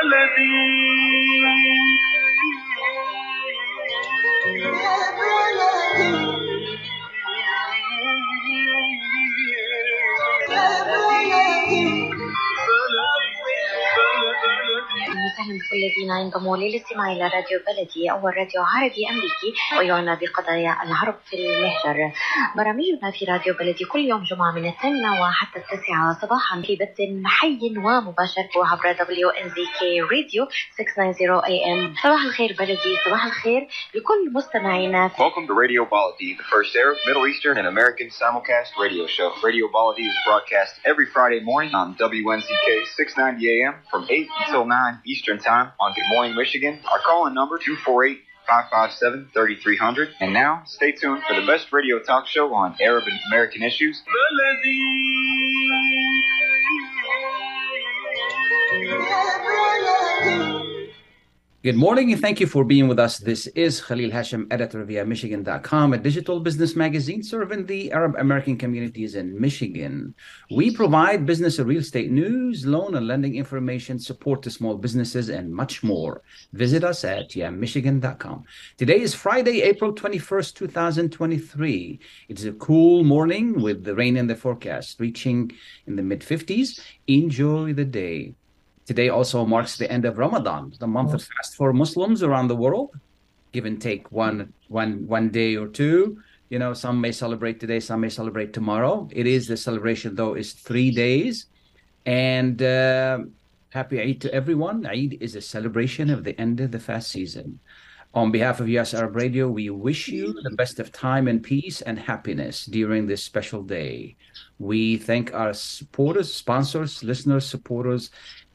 وسهلا بكل الذين ينضموا للاستماع إلى راديو بلدي أول راديو عربي أمريكي ويعنى بقضايا العرب في المهجر. برامجنا في راديو بلدي كل يوم جمعة من 8 وحتى 9 صباحا في بث حي ومباشر عبر WNZK راديو 690 AM. صباح الخير بلدي، صباح الخير لكل مستمعينا. Welcome to Radio Baladi, the first Arab, Middle Eastern, and American simulcast radio show. Radio Baladi is broadcast every Friday morning on WNZK 690 AM from 8 until 9 Eastern Time on Good Morning Michigan. Our call-in number 248-557-3300. And now, stay tuned for the best radio talk show on Arab and American issues. Good morning and thank you for being with us. This is Khalil Hashim, editor via Michigan.com, a digital business magazine serving the Arab American communities in Michigan. We provide business and real estate news, loan and lending information, support to small businesses, and much more. Visit us at Michigan.com. Today is Friday, April 21st, 2023. It's a cool morning with the rain in the forecast, reaching in the mid-50s. Enjoy the day. Today also marks the end of Ramadan, the month of fast for Muslims around the world. Give and take one day or two. You know, some may celebrate today, some may celebrate tomorrow. The celebration, though, is 3 days. And happy Eid to everyone. Eid is a celebration of the end of the fast season. On behalf of US Arab Radio, we wish you the best of time and peace and happiness during this special day. We thank our supporters, sponsors, listeners, supporters,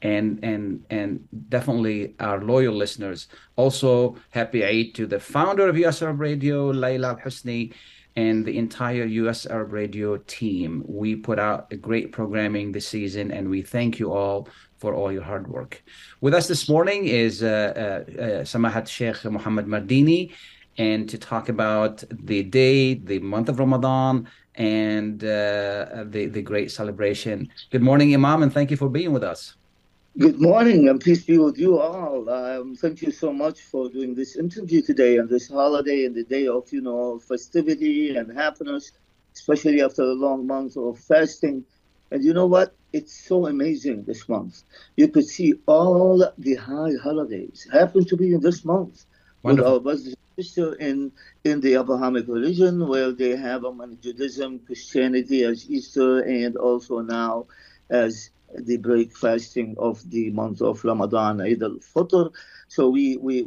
and definitely our loyal listeners. Also, happy Eid to the founder of US Arab Radio, Layla Al-Husni, and the entire US Arab Radio team. We put out a great programming this season, and we thank you all for all your hard work. With us this morning is Samahat Sheikh Muhammad Mardini, and to talk about the day, the month of Ramadan, and the great celebration. Good morning, Imam, and thank you for being with us. Good morning, and peace be with you all. Thank you so much for doing this interview today on this holiday and the day of, festivity and happiness, especially after a long month of fasting. And you know what? It's so amazing this month. You could see all the high holidays happen to be in this month. Wonderful. With our brothers and sisters in the Abrahamic religion, where they have Judaism, Christianity as Easter, and also now as the break fasting of the month of Ramadan, Eid al-Fitr. So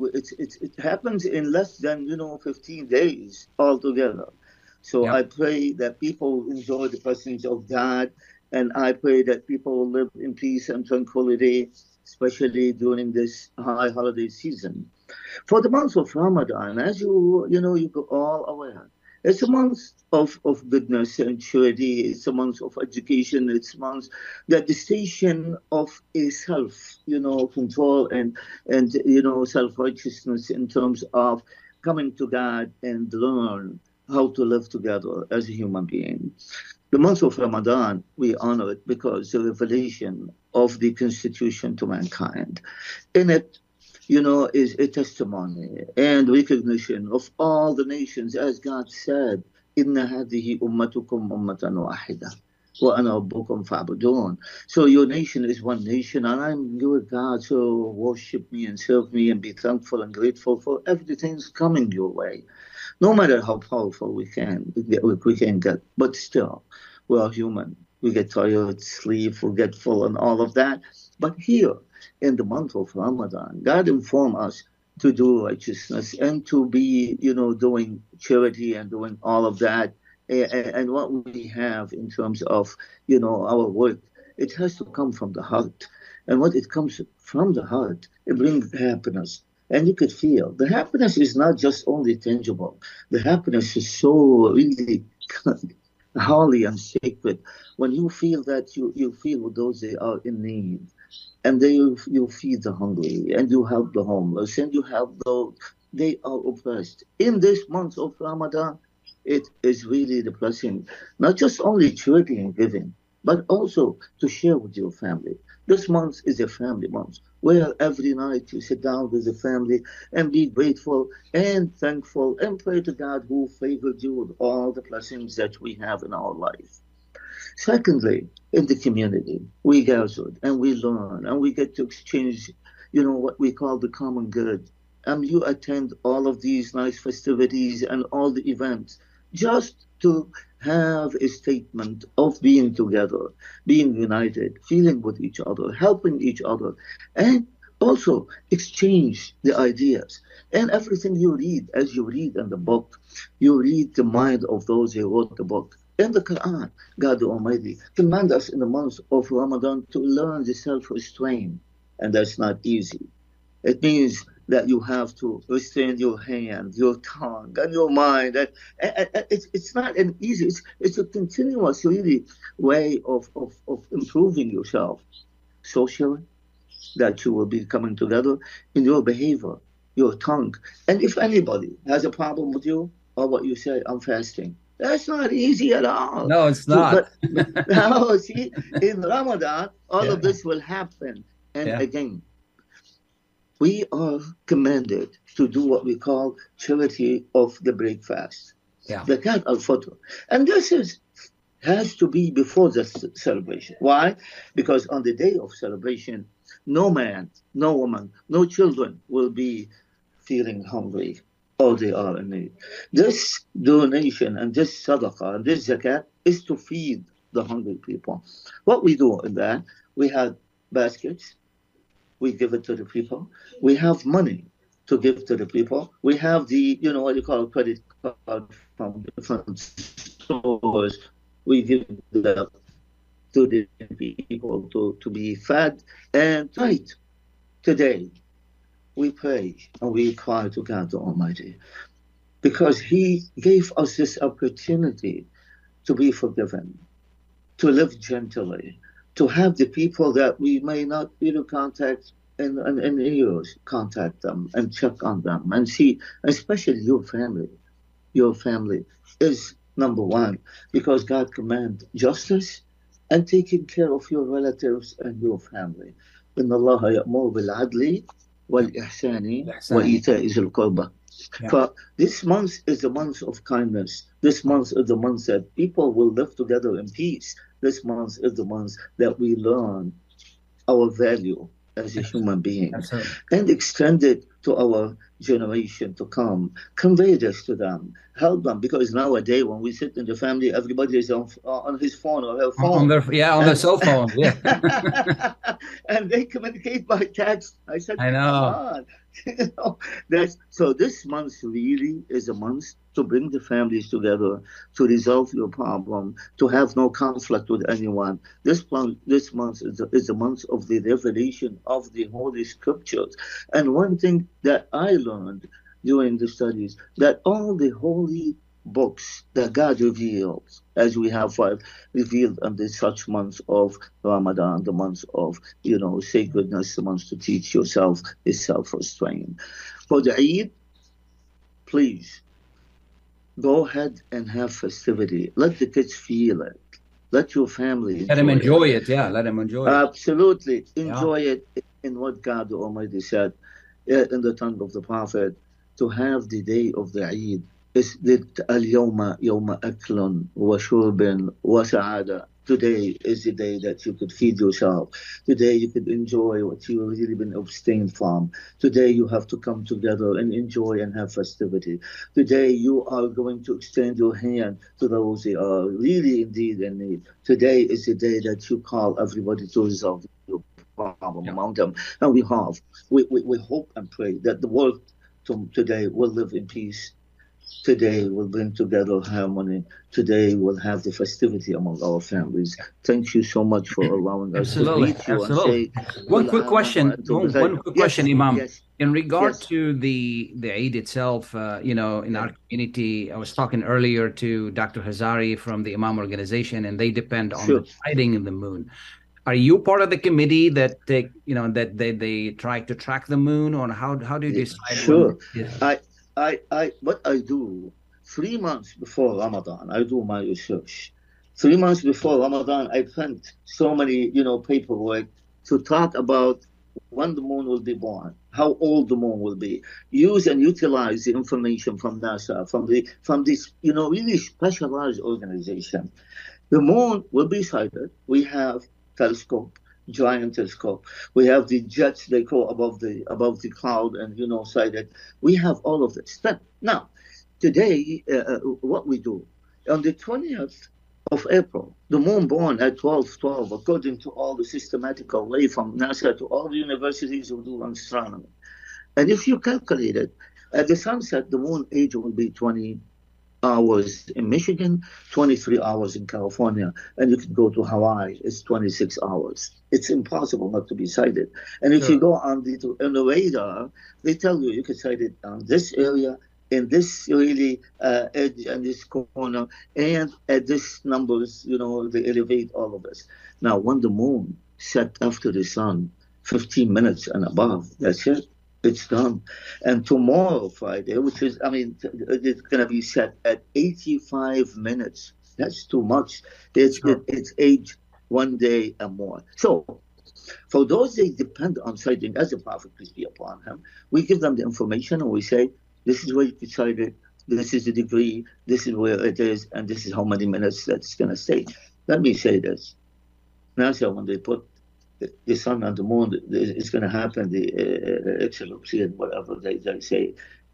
it happens in less than 15 days altogether. So I pray that people enjoy the presence of God, and I pray that people will live in peace and tranquility, especially during this high holiday season. For the month of Ramadan, as you are all aware, it's a month of goodness and charity. It's a month of education. It's a month that the station of a control and self-righteousness in terms of coming to God and learn how to live together as a human being. The month of Ramadan, we honor it because the revelation of the Constitution to mankind. In it, is a testimony and recognition of all the nations, as God said, "Inna hadihi ummatukum ummatan wahida, wa ana rabbukum fa'budun." So your nation is one nation, and I'm your God, so worship me and serve me and be thankful and grateful for everything that's coming your way. No matter how powerful we can get, but still, we are human. We get tired, sleep, forgetful, and all of that. But here, in the month of Ramadan, God informed us to do righteousness and to be, doing charity and doing all of that. And what we have in terms of, our work, it has to come from the heart. And what it comes from the heart, it brings happiness. And you could feel the happiness is not just only tangible. The happiness is so really holy and sacred. When you feel that you feel with those that are in need, and you feed the hungry, and you help the homeless, and you help those they are oppressed. In this month of Ramadan, it is really the blessing, not just only charity and giving, but also to share with your family, This month is a family month where every night you sit down with the family and be grateful and thankful and pray to God who favored you with all the blessings that we have in our life. Secondly, in the community, we gathered and we learn and we get to exchange, what we call the common good. And you attend all of these nice festivities and all the events just to have a statement of being together, being united, feeling with each other, helping each other, and also exchange the ideas. And everything you read, as you read in the book, you read the mind of those who wrote the book. In the Quran, God Almighty commands us in the month of Ramadan to learn the self-restraint, and that's not easy. It means that you have to restrain your hand, your tongue, and your mind. And it's not an easy, it's a continuous, really, way of improving yourself socially, that you will be coming together in your behavior, your tongue. And if anybody has a problem with you, or what you say, I'm fasting, that's not easy at all. No, it's not. But now, see, in Ramadan, all of this will happen. And again, we are commanded to do what we call charity of the breakfast, Zakat al-Fitr. And this has to be before the celebration. Why? Because on the day of celebration, no man, no woman, no children will be feeling hungry, or they are in need. This donation and this sadaqah and this zakat is to feed the hungry people. What we do in that, we have baskets, we give it to the people. We have money to give to the people. We have the, what you call credit card from different stores. We give that to the people to be fed. And tonight, today, we pray and we cry to God the Almighty, because He gave us this opportunity to be forgiven, to live gently, to have the people that we may not contact in years, contact them and check on them and see, especially your family. Your family is number one, because God commands justice and taking care of your relatives and your family. إن الله يأمر بالعدل والإحسان وإيتاء ذي القربى. For this month is the month of kindness. This month is the month that people will live together in peace. This month is the month that we learn our value as a human being. Absolutely. And extend it to our generation to come. Convey this to them. Help them, because nowadays when we sit in the family, everybody is on his phone or her phone. On their cell phone. Yeah. And they communicate by text. I said, I know. So this month really is a month to bring the families together, to resolve your problem, to have no conflict with anyone. This month is the month of the revelation of the Holy Scriptures. And one thing that I learned during the studies, that all the holy books that God reveals, as we have revealed in this such month of Ramadan, the month of sacredness, the month to teach yourself is self-restraint. For the Eid, please go ahead and have festivity. Let the kids feel it. Let your family let them enjoy it. Yeah, let them enjoy it. Absolutely. Enjoy it in what God Almighty said in the tongue of the Prophet, to have the day of the Eid. اليوم يوم أكل وشرب وسعادة. Today is the day that you could feed yourself. Today you could enjoy what you've really been abstained from. Today you have to come together and enjoy and have festivity. Today you are going to extend your hand to those who are really indeed in need. Today is the day that you call everybody to resolve your problem among them. And we hope and pray that the world today will live in peace. Today will bring together harmony. Today we'll have the festivity among our families. Thank you so much for allowing us to meet you and say. One quick question, Imam. Yes. In regard to the Eid itself, in our community, I was talking earlier to Dr. Hazari from the Imam organization, and they depend on the sighting in the moon. Are you part of the committee that they try to track the moon, or how do you decide? Sure. What I do 3 months before Ramadan, I do my research. 3 months before Ramadan, I print so many, paperwork, to talk about when the moon will be born, how old the moon will be, use and utilize the information from NASA, from this, really specialized organization. The moon will be sighted. We have telescope, giant telescope. We have the jets they call above the cloud and sighted. We have all of this. But now, today, what we do on the 20th of April, the moon born at 12:12, according to all the systematical way from NASA to all the universities who do astronomy. And if you calculate it, at the sunset, the moon age will be 20 hours in Michigan, 23 hours in California, and you can go to Hawaii, it's 26 hours. It's impossible not to be sighted. And if you go on the radar, they tell you can sight it on this area, in this really edge and this corner, and at this numbers, they elevate all of this. Now, when the moon set after the sun, 15 minutes and above, that's it. It's done. And tomorrow, Friday, which is, it's going to be set at 85 minutes. That's too much. It's age 1 day and more. So, for those they depend on sighting, as the Prophet, peace be upon him, we give them the information and we say, this is where you can sight it, this is the degree, this is where it is, and this is how many minutes that's going to stay. Let me say this. NASA, when they put the sun and the moon, it's going to happen, the eclipse and whatever they say,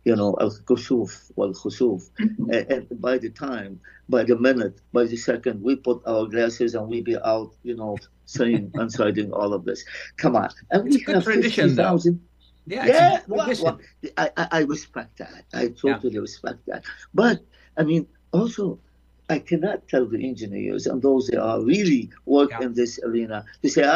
al-kusuf wal-khusuf. And by the minute, by the second, we put our glasses and we be out, saying and sighting all of this. Come on. And we have 50,000. Yeah, well, I respect that. I totally respect that. But, also, I cannot tell the engineers and those that are really work in this arena to say,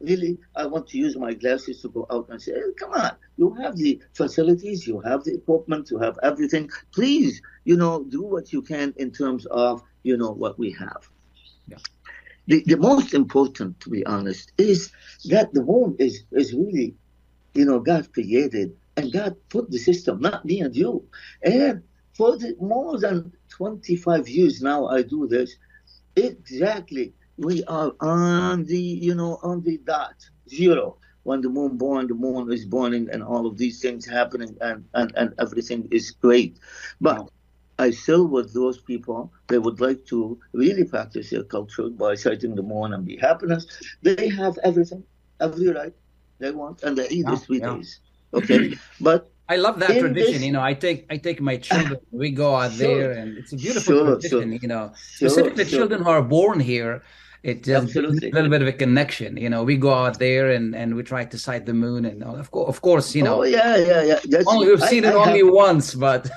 I want to use my glasses to go out and say, hey, come on, you have the facilities, you have the equipment, you have everything. Please, do what you can in terms of, what we have. Yeah. The most important, to be honest, is that the moon is really, God created and God put the system, not me and you. And for more than 25 years now, I do this. Exactly, we are on the dot, zero. When the moon is burning and all of these things happening and everything is great. But I still with those people, they would like to really practice their culture by sighting the moon and be happiness. They have everything, every right they want, and they eat the 3 days. Okay, but I love that tradition. I take my children. We go out there, and it's a beautiful tradition. Specifically the children who are born here. It just a little bit of a connection. We go out there and we try to sight the moon, and of course. Oh yeah. We've seen it only once, but.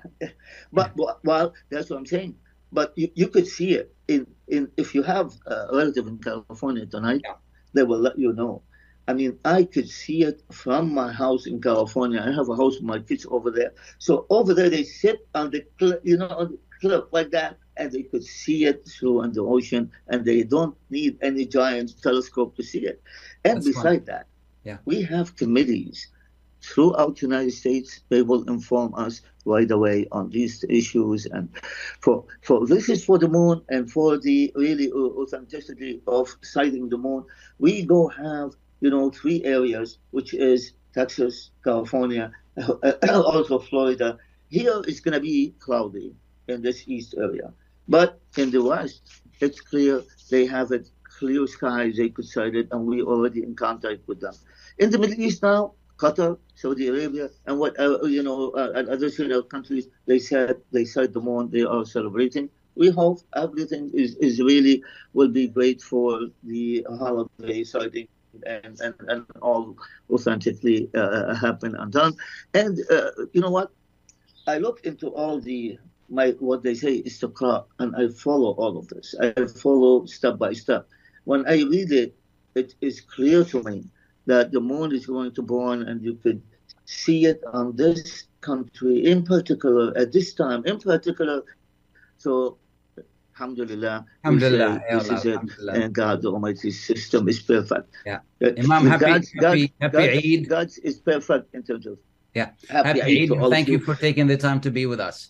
Well, that's what I'm saying. But you could see it in if you have a relative in California tonight, they will let you know. I could see it from my house in California. I have a house with my kids over there. So over there, they sit on the cliff like that, and they could see it through on the ocean, and they don't need any giant telescope to see it. And that's beside that, we have committees throughout the United States. They will inform us right away on these issues. And for this is for the moon and for the really authenticity of sighting the moon, we go have 3 areas, which is Texas, California, also Florida. Here it's going to be cloudy in this east area. But in the west, it's clear. They have it clear skies. They could sight it, and we already in contact with them. In the Middle East now, Qatar, Saudi Arabia, and and other countries, they said they sight the moon. They are celebrating. We hope everything is really will be great for the holiday sighting. And all authentically happen and done. And you know what? I look into all what they say is istiqra, and I follow all of this. I follow step by step. When I read it, it is clear to me that the moon is going to burn, and you could see it on this country in particular at this time in particular. So. Alhamdulillah. Alhamdulillah. This is it. And God, the Almighty's system is perfect. Yeah. Imam, happy Eid. God is perfect in terms of happy Eid. Thank you for taking the time to be with us.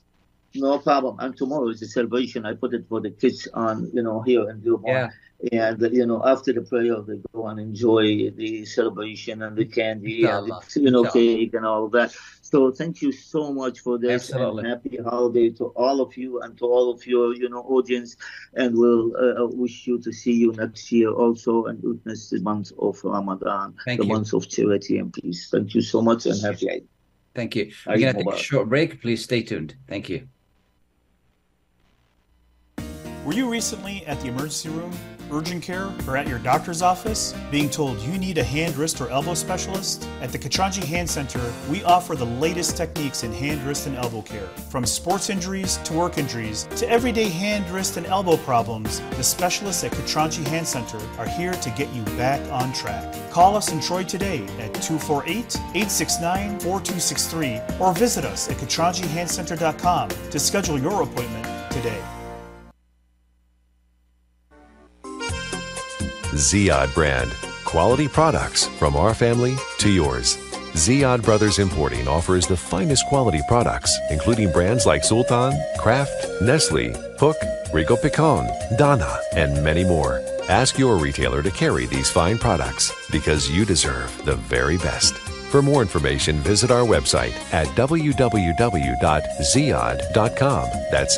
No problem. And tomorrow is a celebration. I put it for the kids on, here in Dearborn. Yeah. And, after the prayer, they go and enjoy the celebration and the candy Inshallah. and the, cake and all of that. So thank you so much for this. Absolutely. And happy holiday to all of you and to all of your, audience. And we'll wish you to see you next year also and witness the month of Ramadan, month of charity and peace. Thank you so much and happy Eid. Thank you. We're going to take a short break. Please stay tuned. Thank you. Were you recently at the emergency room, urgent care, or at your doctor's office being told you need a hand, wrist, or elbow specialist? At the Katranji Hand Center, we offer the latest techniques in hand, wrist, and elbow care. From sports injuries to work injuries to everyday hand, wrist, and elbow problems, the specialists at Katranji Hand Center are here to get you back on track. Call us in Troy today at 248-869-4263 or visit us at KatranjiHandCenter.com to schedule your appointment today. Ziyad brand. Quality products from our family to yours. Ziyad Brothers Importing offers the finest quality products, including brands like Sultan, Kraft, Nestle, Hook, Rico Picon, Dana, and many more. Ask your retailer to carry these fine products because you deserve the very best. For more information, visit our website at www.ziyad.com. That's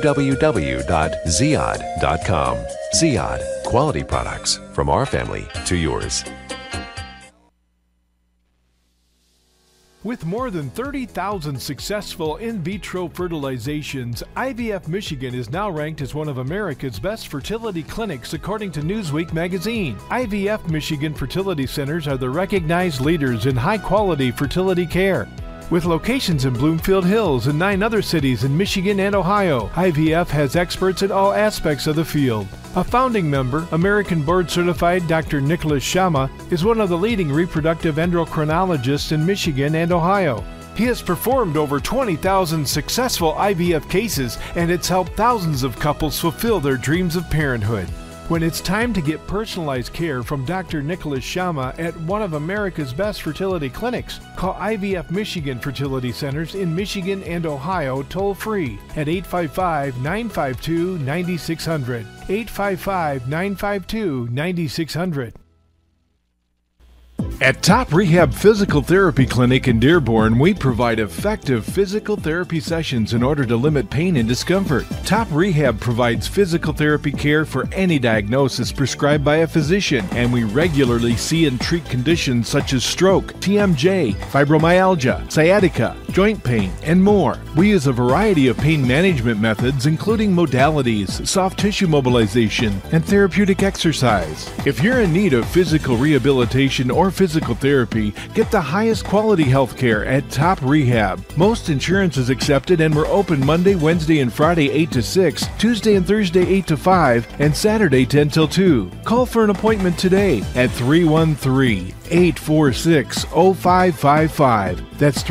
www.ziyad.com. Ziyad, quality products from our family to yours. With more than 30,000 successful in vitro fertilizations, IVF Michigan is now ranked as one of America's best fertility clinics according to Newsweek magazine. IVF Michigan fertility centers are the recognized leaders in high-quality fertility care. With locations in Bloomfield Hills and 9 other cities in Michigan and Ohio, IVF has experts in all aspects of the field. A founding member, American board-certified Dr. Nicholas Shama, is one of the leading reproductive endocrinologists in Michigan and Ohio. He has performed over 20,000 successful IVF cases, and it's helped thousands of couples fulfill their dreams of parenthood. When it's time to get personalized care from Dr. Nicholas Shama at one of America's best fertility clinics, call IVF Michigan Fertility Centers in Michigan and Ohio toll-free at 855-952-9600. 855-952-9600. At Top Rehab Physical Therapy Clinic in Dearborn, we provide effective physical therapy sessions in order to limit pain and discomfort. Top Rehab provides physical therapy care for any diagnosis prescribed by a physician, and we regularly see and treat conditions such as stroke, TMJ, fibromyalgia, sciatica, joint pain, and more. We use a variety of pain management methods, including modalities, soft tissue mobilization, and therapeutic exercise. If you're in need of physical rehabilitation or physical therapy, get the highest quality health care at Top Rehab. Most insurance is accepted, and we're open Monday, Wednesday, and Friday 8 to 6, Tuesday and Thursday 8 to 5, and Saturday 10 till 2. Call for an appointment today at 313-846-0555. That's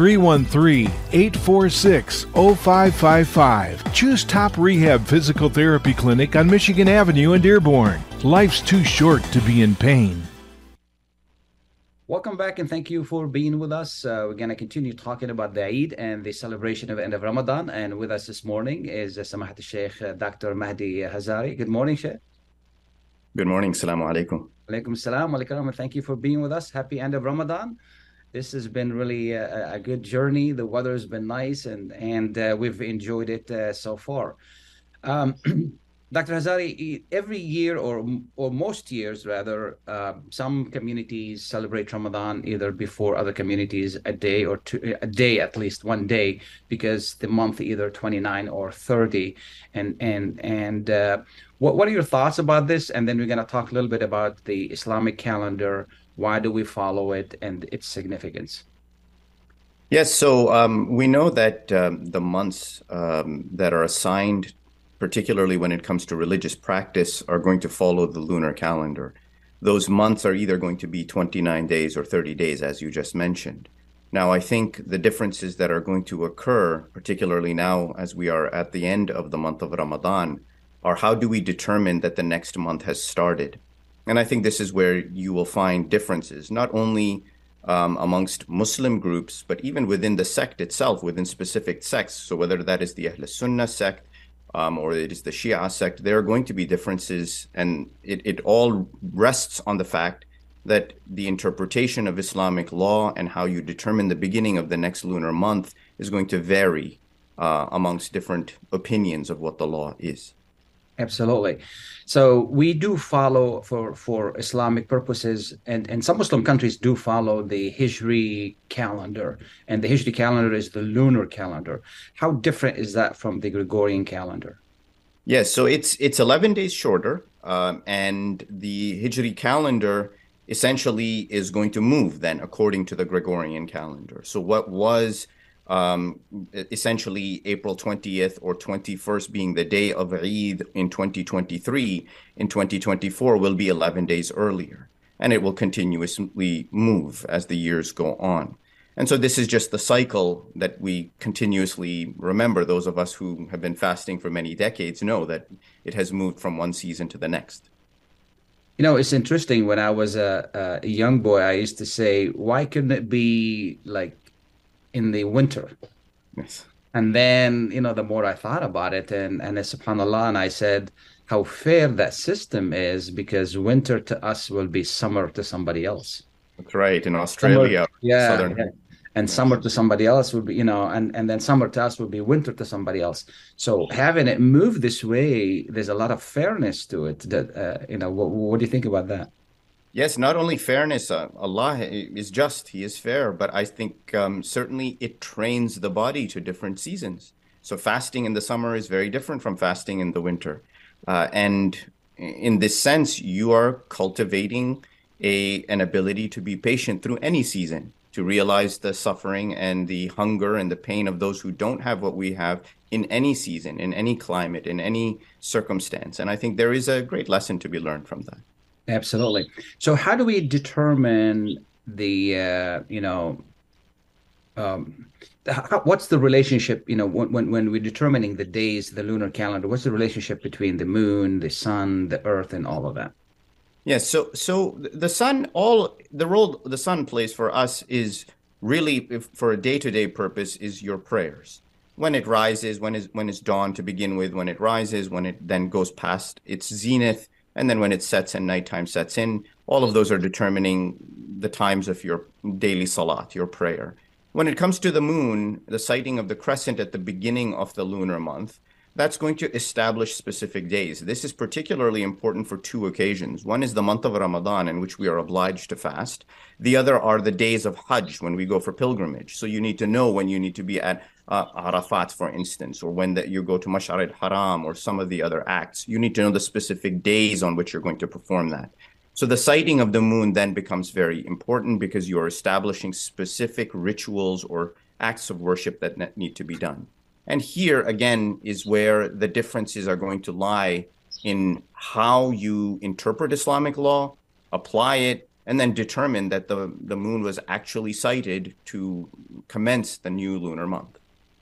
313-846-0555. Choose Top Rehab Physical Therapy Clinic on Michigan Avenue in Dearborn. Life's too short to be in pain. Welcome back, and thank you for being with us. We're going to continue talking about the Eid and the celebration of the end of Ramadan. And with us this morning is Samahat Sheikh Dr. Mahdi Hazari. Good morning, Sheikh. Good morning. Assalamu alaikum. Alaikum salam. And thank you for being with us. Happy end of Ramadan. This has been really a good journey. The weather has been nice, and we've enjoyed it so far. Dr. Hazari, every year or most years rather, some communities celebrate Ramadan either before other communities a day or two, a day at least, one day, because the month either 29 or 30. And what are your thoughts about this? And then we're going to talk a little bit about the Islamic calendar. Why do we follow it and its significance? Yes, so we know that the months that are assigned, particularly when it comes to religious practice, are going to follow the lunar calendar. Those months are either going to be 29 days or 30 days, as you just mentioned. Now, I think the differences that are going to occur, particularly now as we are at the end of the month of Ramadan, are how do we determine that the next month has started? And I think this is where you will find differences, not only amongst Muslim groups, but even within the sect itself, within specific sects. So whether that is the Ahl Sunnah sect or it is the Shia sect, there are going to be differences, and it all rests on the fact that the interpretation of Islamic law and how you determine the beginning of the next lunar month is going to vary amongst different opinions of what the law is. Absolutely. So we do follow for Islamic purposes, and some Muslim countries do follow the Hijri calendar, and the Hijri calendar is the lunar calendar. How different is that from the Gregorian calendar? Yes, so it's 11 days shorter, and the Hijri calendar essentially is going to move then according to the Gregorian calendar. So what was essentially April 20th or 21st being the day of Eid in 2023, in 2024 will be 11 days earlier. And it will continuously move as the years go on. And so this is just the cycle that we continuously remember. Those of us who have been fasting for many decades know that it has moved from one season to the next. You know, it's interesting. When I was a young boy, I used to say, why couldn't it be like in the winter? Yes. And then, you know, the more I thought about it, and subhanAllah, and I said how fair that system is, because winter to us will be summer to somebody else. That's right. In Australia, southern. Yeah. And summer to somebody else would be, you know, and then summer to us would be winter to somebody else. So having it move this way, there's a lot of fairness to it. That you know, what do you think about that? Yes, not only fairness, Allah is just, He is fair, but I think certainly it trains the body to different seasons. So fasting in the summer is very different from fasting in the winter. And in this sense, you are cultivating an ability to be patient through any season, to realize the suffering and the hunger and the pain of those who don't have what we have in any season, in any climate, in any circumstance. And I think there is a great lesson to be learned from that. Absolutely. So how do we determine the, what's the relationship, you know, when we're determining the days, the lunar calendar, what's the relationship between the moon, the sun, the earth, and all of that? Yes, so the sun, the role the sun plays for us is really, for a day-to-day purpose, is your prayers. When it rises, when it's dawn to begin with, when it rises, when it then goes past its zenith, and then when it sets and nighttime sets in, all of those are determining the times of your daily salat, your prayer. When it comes to the moon, the sighting of the crescent at the beginning of the lunar month, that's going to establish specific days. This is particularly important for two occasions. One is the month of Ramadan, in which we are obliged to fast. The other are the days of Hajj, when we go for pilgrimage. So you need to know when you need to be at Arafat, for instance, or when you go to Mash'ar al-Haram or some of the other acts. You need to know the specific days on which you're going to perform that. So the sighting of the moon then becomes very important, because you are establishing specific rituals or acts of worship that need to be done. And here, again, is where the differences are going to lie in how you interpret Islamic law, apply it, and then determine that the moon was actually sighted to commence the new lunar month.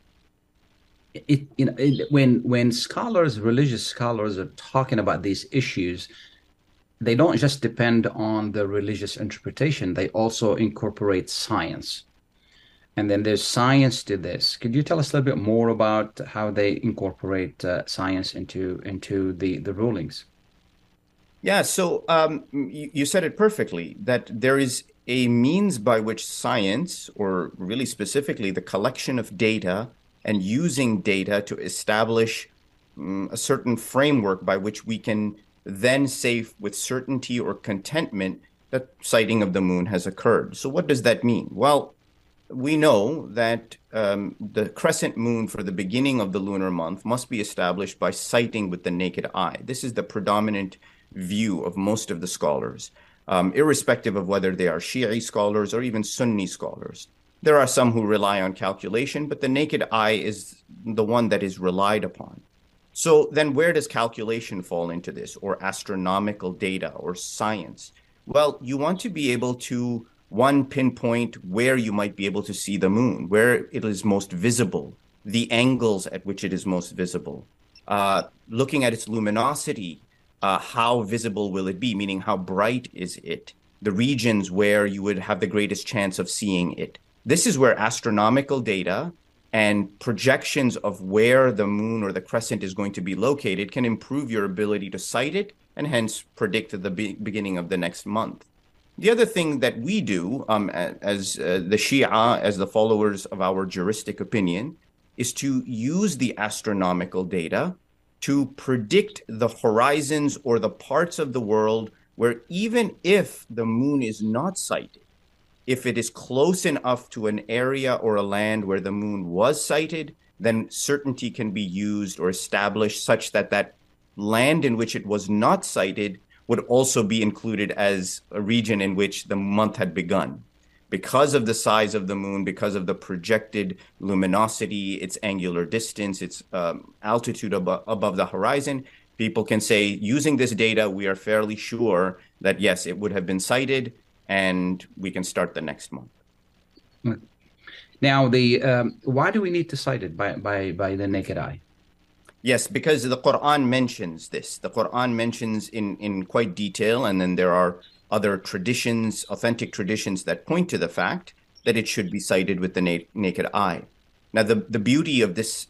When religious scholars are talking about these issues, they don't just depend on the religious interpretation. They also incorporate science. And then there's science to this. Could you tell us a little bit more about how they incorporate science into the rulings? Yeah, so you said it perfectly, that there is a means by which science, or really specifically the collection of data and using data to establish a certain framework by which we can then say with certainty or contentment that sighting of the moon has occurred. So what does that mean? Well, we know that the crescent moon for the beginning of the lunar month must be established by sighting with the naked eye. This is the predominant view of most of the scholars, irrespective of whether they are Shi'i scholars or even Sunni scholars. There are some who rely on calculation, but the naked eye is the one that is relied upon. So then where does calculation fall into this, or astronomical data or science? Well, you want to be able to pinpoint where you might be able to see the moon, where it is most visible, the angles at which it is most visible, looking at its luminosity, how visible will it be, meaning how bright is it, the regions where you would have the greatest chance of seeing it. This is where astronomical data and projections of where the moon or the crescent is going to be located can improve your ability to sight it and hence predict the beginning of the next month. The other thing that we do as the Shia, as the followers of our juristic opinion, is to use the astronomical data to predict the horizons or the parts of the world where even if the moon is not sighted, if it is close enough to an area or a land where the moon was sighted, then certainty can be used or established such that that land in which it was not sighted would also be included as a region in which the month had begun. Because of the size of the moon, because of the projected luminosity, its angular distance, its altitude above the horizon, people can say, using this data, we are fairly sure that, yes, it would have been sighted, and we can start the next month. Now, why do we need to sight it by the naked eye? Yes, because the Quran mentions this. The Quran mentions in quite detail, and then there are other traditions, authentic traditions that point to the fact that it should be sighted with the naked eye. Now, the beauty of this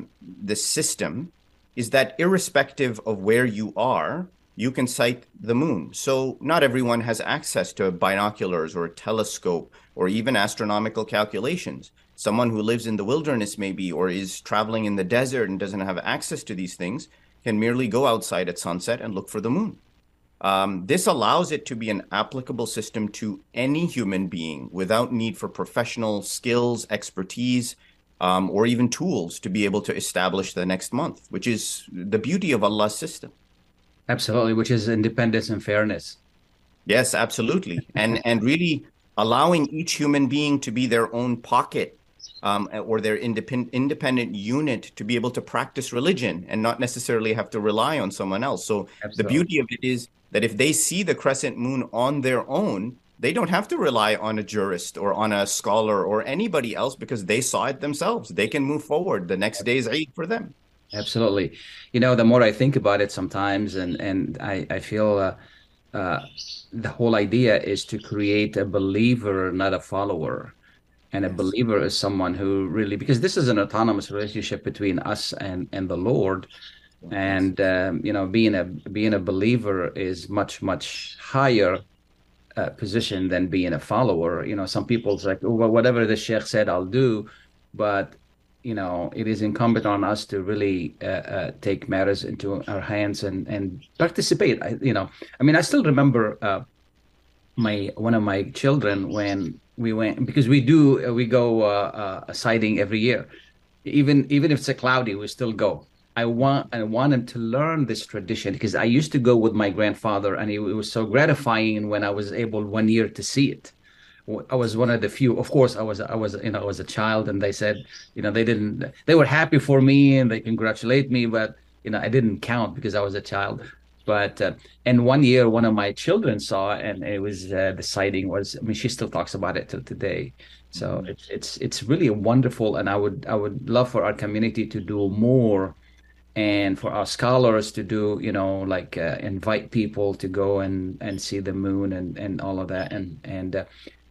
system is that irrespective of where you are, you can sight the moon. So not everyone has access to binoculars or a telescope or even astronomical calculations. Someone who lives in the wilderness maybe, or is traveling in the desert and doesn't have access to these things, can merely go outside at sunset and look for the moon. This allows it to be an applicable system to any human being without need for professional skills, expertise, or even tools to be able to establish the next month, which is the beauty of Allah's system. Absolutely, which is independence and fairness. Yes, absolutely. And really allowing each human being to be their own pocket or their independent unit to be able to practice religion and not necessarily have to rely on someone else. So the beauty of it is that if they see the crescent moon on their own, they don't have to rely on a jurist or on a scholar or anybody else because they saw it themselves. They can move forward. The next day is Eid for them. Absolutely. The more I think about it sometimes, and I feel the whole idea is to create a believer, not a follower. And a believer is someone who really, because this is an autonomous relationship between us and the Lord. And, being a believer is much higher position than being a follower. Some people's like, oh, well, whatever the Sheikh said, I'll do. But it is incumbent on us to really take matters into our hands and participate. I still remember one of my children when we went, because we go sighting every year, even if it's a cloudy, we still go. I want him to learn this tradition because I used to go with my grandfather, and it was so gratifying when I was able one year to see it. I was one of the few. Of course, I was a child, and they said, they were happy for me and they congratulate me, but I didn't count because I was a child. But and one year, one of my children saw, and it was the sighting was. She still talks about it till today. So it's really wonderful, and I would love for our community to do more, and for our scholars to do, invite people to go and see the moon and all of that, and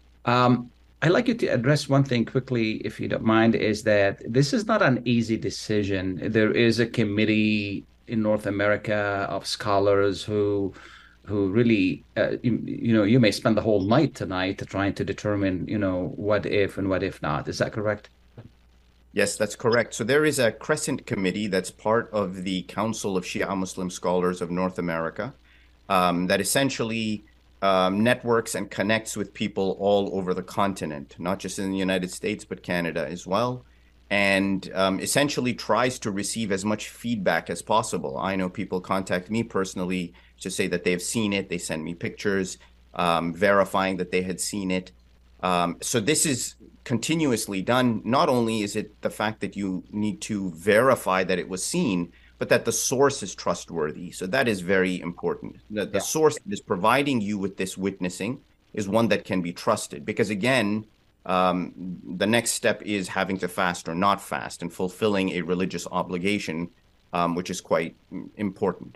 I'd like you to address one thing quickly, if you don't mind, is that this is not an easy decision. There is a committee in North America of scholars who really, you may spend the whole night tonight trying to determine, what if and what if not. Is that correct? Yes, that's correct. So there is a Crescent Committee that's part of the Council of Shia Muslim Scholars of North America that essentially networks and connects with people all over the continent, not just in the United States, but Canada as well, and essentially tries to receive as much feedback as possible. I know people contact me personally to say that they've seen it. They send me pictures verifying that they had seen it. So this is continuously done. Not only is it the fact that you need to verify that it was seen, but that the source is trustworthy. So that is very important. The source that is providing you with this witnessing is one that can be trusted. Because again, the next step is having to fast or not fast and fulfilling a religious obligation, which is quite important.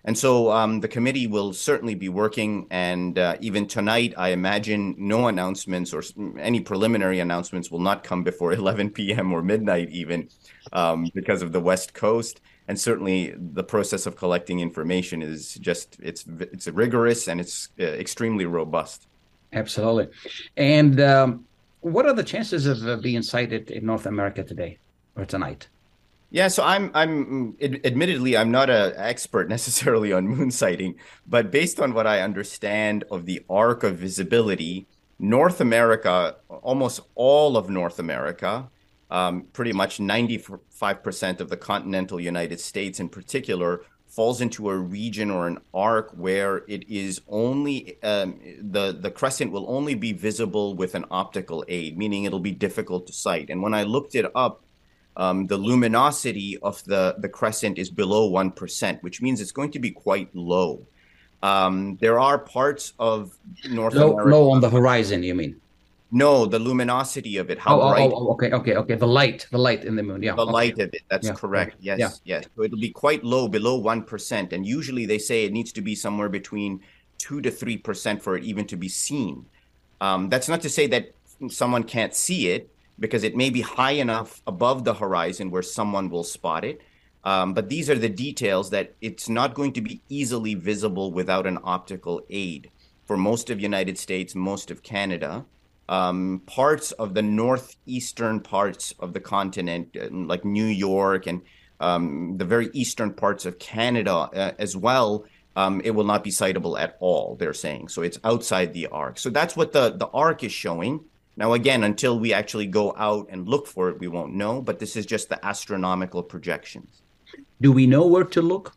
And so the committee will certainly be working, and even tonight, I imagine no announcements or any preliminary announcements will not come before 11 p.m. or midnight even because of the West Coast. And certainly the process of collecting information is just, it's rigorous and it's extremely robust. Absolutely. And what are the chances of being sighted in North America today or tonight? Yeah, so admittedly, I'm not an expert necessarily on moon sighting, but based on what I understand of the arc of visibility, North America, almost all of North America, pretty much 95% of the continental United States in particular, falls into a region or an arc where it is only, the crescent will only be visible with an optical aid, meaning it'll be difficult to sight. And when I looked it up, the luminosity of the crescent is below 1%, which means it's going to be quite low. There are parts of North America. Low on the horizon, you mean? No, the luminosity of it. How bright? Okay. The light in the moon. Yeah. The light of it. That's correct. Yes. So it'll be quite low, below 1%. And usually they say it needs to be somewhere between 2 to 3% for it even to be seen. That's not to say that someone can't see it, because it may be high enough above the horizon where someone will spot it. But these are the details that it's not going to be easily visible without an optical aid. For most of the United States, most of Canada, parts of the northeastern parts of the continent, like New York and the very eastern parts of Canada as well, it will not be sightable at all, they're saying. So it's outside the arc. So that's what the arc is showing. Now, again, until we actually go out and look for it, we won't know, but this is just the astronomical projections. Do we know where to look?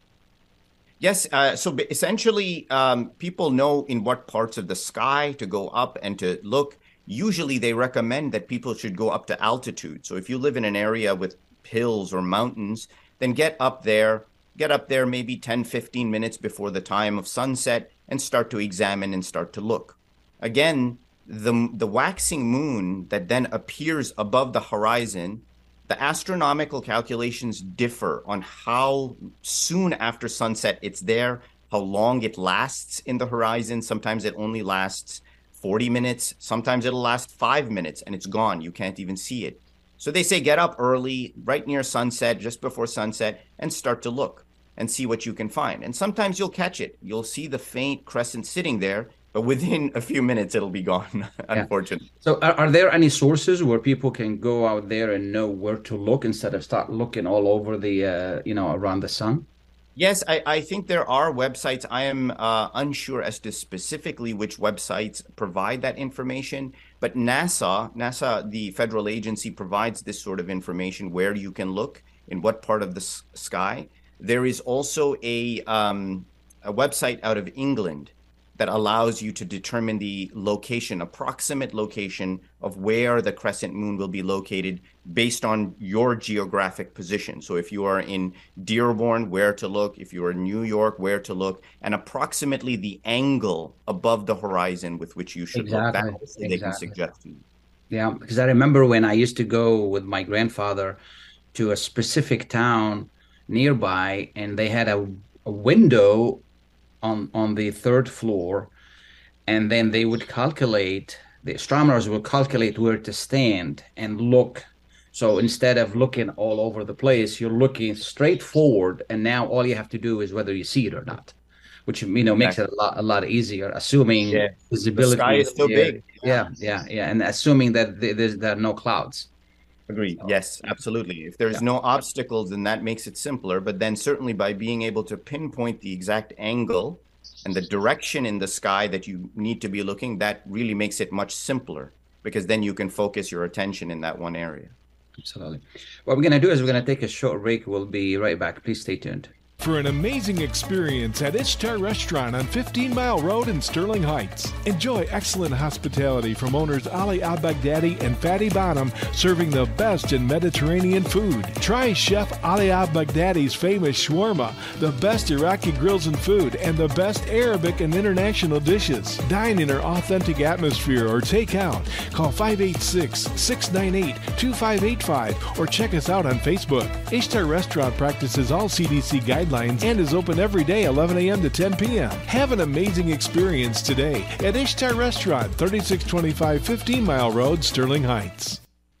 Yes. So essentially, people know in what parts of the sky to go up and to look. Usually they recommend that people should go up to altitude. So if you live in an area with hills or mountains, then get up there maybe 10, 15 minutes before the time of sunset and start to examine and start to look. Again, the waxing moon that then appears above the horizon, the astronomical calculations differ on how soon after sunset it's there, how long it lasts in the horizon. Sometimes it only lasts 40 minutes. Sometimes it'll last 5 minutes and it's gone. You can't even see it. So they say get up early, right near sunset, just before sunset, and start to look and see what you can find. And sometimes you'll catch it. You'll see the faint crescent sitting there, but within a few minutes, it'll be gone, unfortunately. So are there any sources where people can go out there and know where to look instead of start looking all over the, around the sun? Yes, I think there are websites. I am unsure as to specifically which websites provide that information, but NASA, the federal agency, provides this sort of information where you can look, in what part of the sky. There is also a website out of England that allows you to determine the location, approximate location of where the crescent moon will be located based on your geographic position. So if you are in Dearborn, where to look, if you are in New York, where to look, and approximately the angle above the horizon with which you should look. They can suggest to you. Yeah, because I remember when I used to go with my grandfather to a specific town nearby, and they had a window on the third floor, and then they would calculate, the astronomers would calculate where to stand and look. So instead of looking all over the place, you're looking straight forward, and now all you have to do is whether you see it or not, which makes it a lot easier, assuming visibility. The sky is so big. Yeah, and assuming that there are no clouds. Agreed. Yes, absolutely. If there's no obstacles, then that makes it simpler. But then certainly by being able to pinpoint the exact angle and the direction in the sky that you need to be looking, that really makes it much simpler, because then you can focus your attention in that one area. Absolutely. What we're going to do is we're going to take a short break. We'll be right back. Please stay tuned. For an amazing experience at Ishtar Restaurant on 15 Mile Road in Sterling Heights. Enjoy excellent hospitality from owners Ali Al-Baghdadi and Fadi Bonham, serving the best in Mediterranean food. Try Chef Ali Al-Baghdadi's famous shawarma, the best Iraqi grills and food, and the best Arabic and international dishes. Dine in our authentic atmosphere or take out. Call 586-698-2585 or check us out on Facebook. Ishtar Restaurant practices all CDC guidelines guidelines and is open every day 11 a.m. to 10 p.m. Have an amazing experience today at Ishtar Restaurant, 3625 15 Mile Road, Sterling Heights.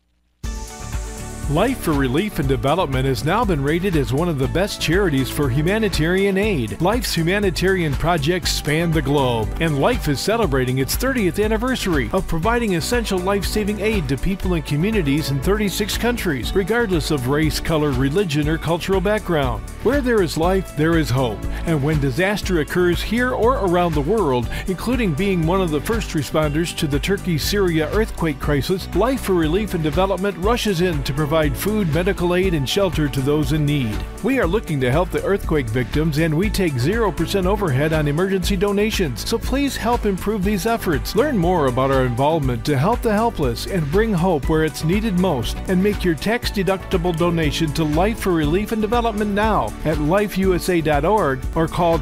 Life for Relief and Development has now been rated as one of the best charities for humanitarian aid. Life's humanitarian projects span the globe, and Life is celebrating its 30th anniversary of providing essential life-saving aid to people and communities in 36 countries, regardless of race, color, religion, or cultural background. Where there is life, there is hope. And when disaster occurs here or around the world, including being one of the first responders to the Turkey-Syria earthquake crisis, Life for Relief and Development rushes in to provide food, medical aid, and shelter to those in need. We are looking to help the earthquake victims, and we take 0% overhead on emergency donations. So please help improve these efforts. Learn more about our involvement to help the helpless and bring hope where it's needed most, and make your tax-deductible donation to Life for Relief and Development now at lifeusa.org or call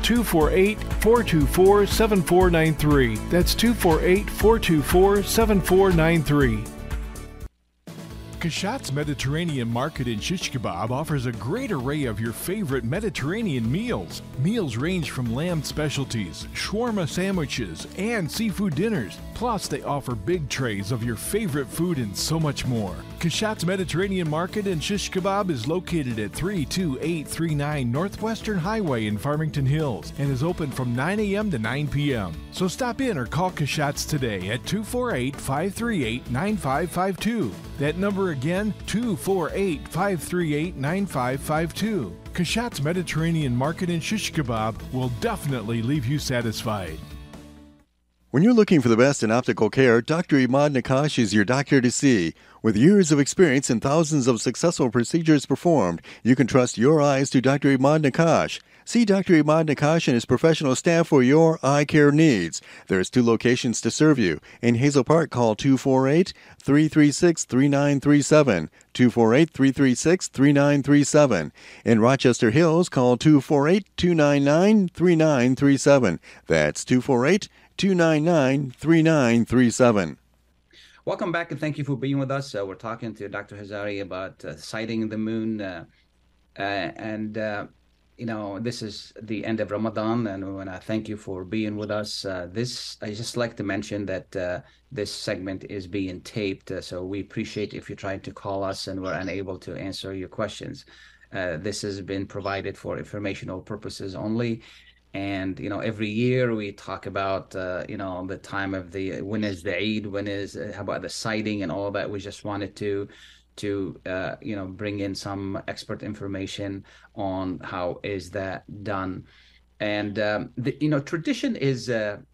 248-424-7493. That's 248-424-7493. Kashat's Mediterranean Market in Shish Kebab offers a great array of your favorite Mediterranean meals. Meals range from lamb specialties, shawarma sandwiches, and seafood dinners. Plus, they offer big trays of your favorite food and so much more. Kashat's Mediterranean Market in Shish Kebab is located at 32839 Northwestern Highway in Farmington Hills and is open from 9 a.m. to 9 p.m. So stop in or call Kashat's today at 248-538-9552. That number again, 248-538-9552. Kashat's Mediterranean Market in Shish Kebab will definitely leave you satisfied. When you're looking for the best in optical care, Dr. Imad Nakash is your doctor to see. With years of experience and thousands of successful procedures performed, you can trust your eyes to Dr. Imad Nakash. See Dr. Imad Nakash and his professional staff for your eye care needs. There's 2 locations to serve you. In Hazel Park, call 248-336-3937, 248-336-3937. In Rochester Hills, call 248-299-3937. That's 248-299-3937. Welcome back, and thank you for being with us. We're talking to Dr. Hazari about sighting the moon, this is the end of Ramadan, and I want to thank you for being with us. I just like to mention that this segment is being taped, so we appreciate if you're trying to call us and we're unable to answer your questions. This has been provided for informational purposes only. And, every year we talk about, the time of when is the Eid, how about the sighting and all that. We just wanted to bring in some expert information on how is that done. And, tradition is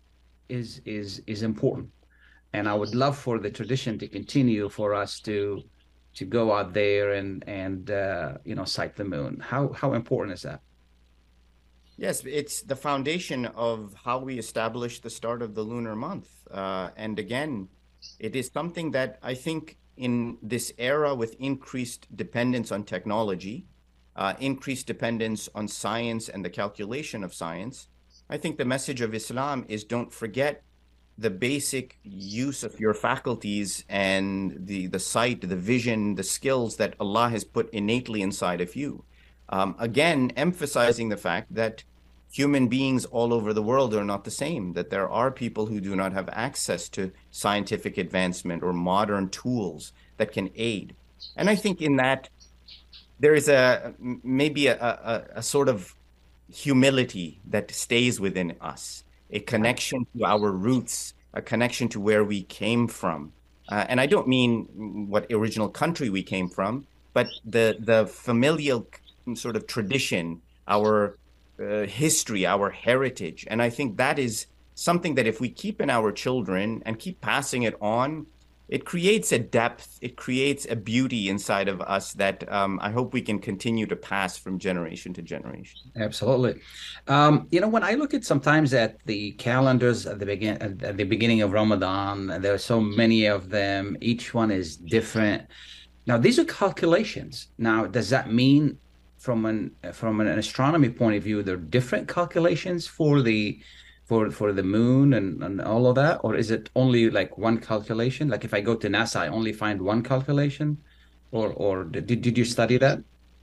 important. And I would love for the tradition to continue for us to go out there and sight the moon. How important is that? Yes, it's the foundation of how we establish the start of the lunar month. And again, it is something that I think in this era with increased dependence on technology, increased dependence on science and the calculation of science, I think the message of Islam is don't forget the basic use of your faculties and the sight, the vision, the skills that Allah has put innately inside of you. Again, emphasizing the fact that human beings all over the world are not the same, that there are people who do not have access to scientific advancement or modern tools that can aid. And I think in that there is maybe a sort of humility that stays within us, a connection to our roots, a connection to where we came from. And I don't mean what original country we came from, but the familial sort of tradition, our history, our heritage. And I think that is something that if we keep in our children and keep passing it on, it creates a depth, it creates a beauty inside of us that I hope we can continue to pass from generation to generation. Absolutely. When I look at sometimes at the calendars at the beginning of Ramadan, there are so many of them. Each one is different. Now, these are calculations. Now, does that mean from an astronomy point of view, there are different calculations for the moon and all of that, or is it only like one calculation? Like if I go to NASA, I only find one calculation, or did you study that?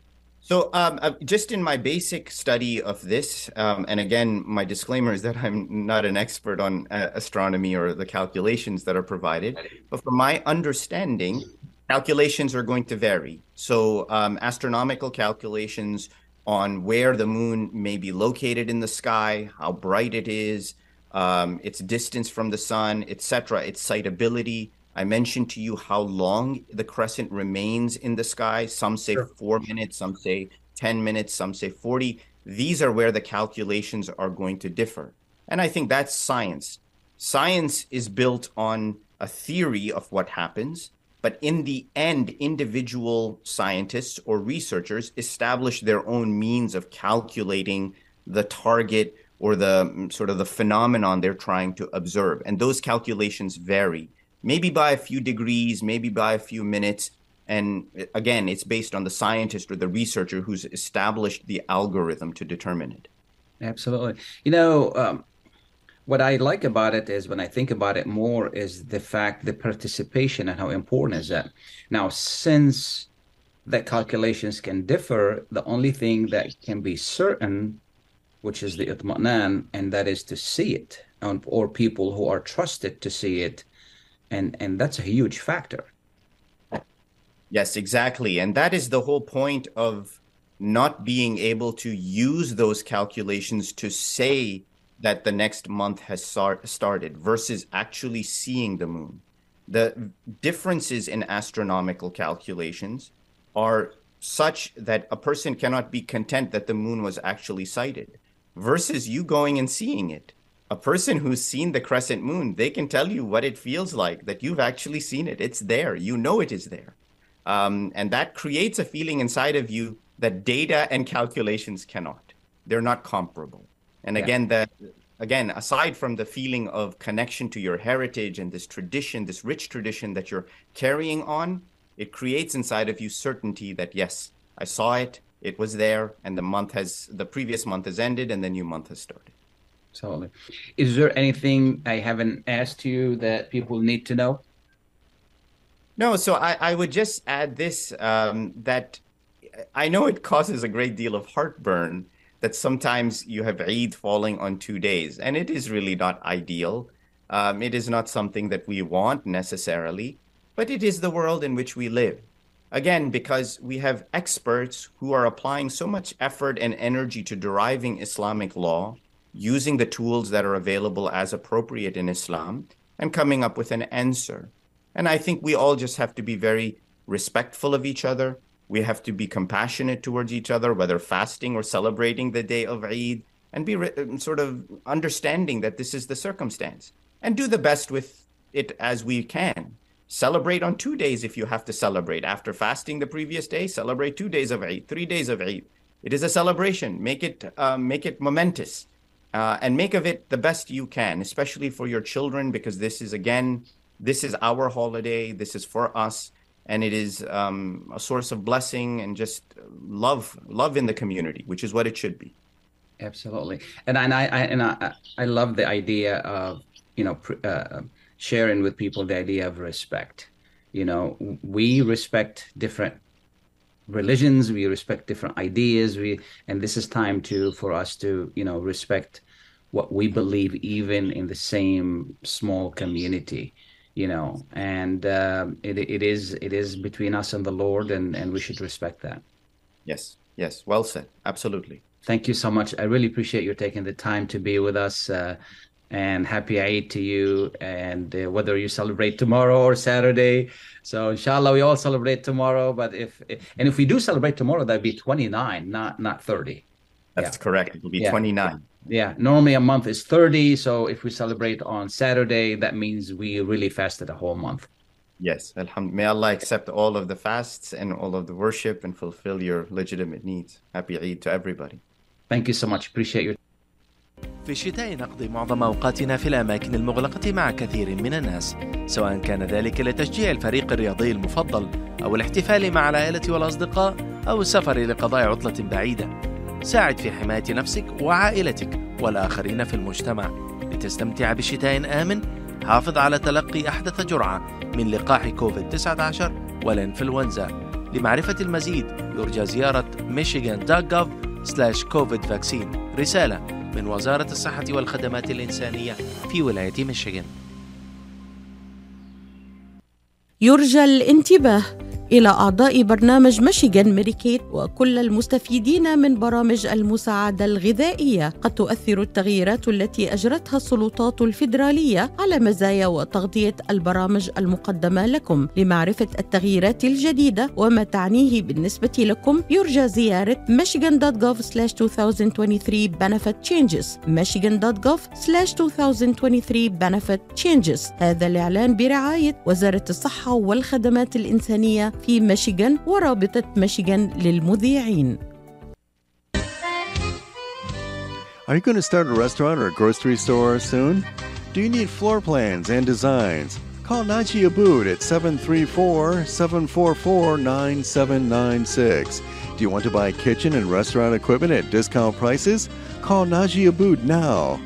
So just in my basic study of this, and again, my disclaimer is that I'm not an expert on astronomy or the calculations that are provided, but from my understanding, calculations are going to vary. So astronomical calculations on where the moon may be located in the sky, how bright it is, its distance from the sun, etc., its sightability. I mentioned to you how long the crescent remains in the sky. Some say 4 minutes, some say 10 minutes, some say 40. These are where the calculations are going to differ. And I think that's science. Science is built on a theory of what happens, but in the end, individual scientists or researchers establish their own means of calculating the target or the sort of the phenomenon they're trying to observe. And those calculations vary. Maybe by a few degrees, maybe by a few minutes. And again, it's based on the scientist or the researcher who's established the algorithm to determine it. Absolutely. What I like about it is, when I think about it more, is the fact, the participation, and how important is that. Now, since the calculations can differ, the only thing that can be certain, which is the itma'nan, and that is to see it, or people who are trusted to see it. And that's a huge factor. Yes, exactly. And that is the whole point of not being able to use those calculations to say that the next month has started versus actually seeing the moon. The differences in astronomical calculations are such that a person cannot be content that the moon was actually sighted versus you going and seeing it. A person who's seen the crescent moon, they can tell you what it feels like, that you've actually seen it. It's there. You know it is there. And that creates a feeling inside of you that data and calculations cannot. They're not comparable. And again, aside from the feeling of connection to your heritage and this tradition, this rich tradition that you're carrying on, it creates inside of you certainty that, yes, I saw it, it was there, and the previous month has ended and the new month has started. Absolutely. Is there anything I haven't asked you that people need to know? No, so I would just add this, that I know it causes a great deal of heartburn that sometimes you have Eid falling on 2 days, and it is really not ideal. It is not something that we want necessarily, but it is the world in which we live. Again, because we have experts who are applying so much effort and energy to deriving Islamic law, using the tools that are available as appropriate in Islam, and coming up with an answer. And I think we all just have to be very respectful of each other. We have to be compassionate towards each other, whether fasting or celebrating the day of Eid, and be sort of understanding that this is the circumstance, and do the best with it as we can. Celebrate on 2 days if you have to celebrate. After fasting the previous day, celebrate 2 days of Eid, 3 days of Eid. It is a celebration. Make it momentous. And make of it the best you can, especially for your children, because this is our holiday. This is for us, and it is a source of blessing and just love in the community, which is what it should be. Absolutely, and I love the idea of sharing with people the idea of respect. We respect different religions, we respect different ideas, and this is time for us to respect what we believe, even in the same small community, and it is between us and the Lord, and we should respect that. Yes, well said. Absolutely. Thank you so much. I really appreciate you taking the time to be with us, and happy Eid to you, and whether you celebrate tomorrow or Saturday. So inshallah we all celebrate tomorrow, but if we do celebrate tomorrow, that'd be 29, not 30. That's correct. It will be 29. Yeah, normally a month is 30, so if we celebrate on Saturday, that means we really fasted a whole month. Yes, alhamdulillah. May Allah accept all of the fasts and all of the worship and fulfill your legitimate needs. Happy Eid to everybody. Thank you so much. Appreciate your. في الشتاء نقضي معظم أوقاتنا في الأماكن المغلقة مع كثير من الناس، سواء كان ذلك لتشجيع الفريق الرياضي المفضل أو الاحتفال مع العائلة والأصدقاء أو السفر لقضاء عطلة بعيدة. ساعد في حماية نفسك وعائلتك والآخرين في المجتمع لتستمتع بشتاء آمن. حافظ على تلقي أحدث جرعة من لقاح كوفيد-19 والإنفلونزا. لمعرفة المزيد يرجى زيارة michigan.gov/COVID-vaccine. رسالة من وزارة الصحة والخدمات الإنسانية في ولاية ميشيغان. يرجى الانتباه إلى أعضاء برنامج ميشيغان ميديكيد وكل المستفيدين من برامج المساعدة الغذائية. قد تؤثر التغييرات التي أجرتها السلطات الفيدرالية على مزايا وتغطية البرامج المقدمة لكم. لمعرفة التغييرات الجديدة وما تعنيه بالنسبة لكم يرجى زيارة michigan.gov/2023 benefit changes michigan.gov/2023 benefit changes. هذا الإعلان برعاية وزارة الصحة والخدمات الإنسانية في ميشيغان ورابطة ميشيغان للمذيعين. Are you going to start a restaurant or a grocery store soon? Do you need floor plans and designs? Call Naji Abood at 734-744-9796. Do you want to buy kitchen and restaurant equipment at discount prices? Call Naji Abood now,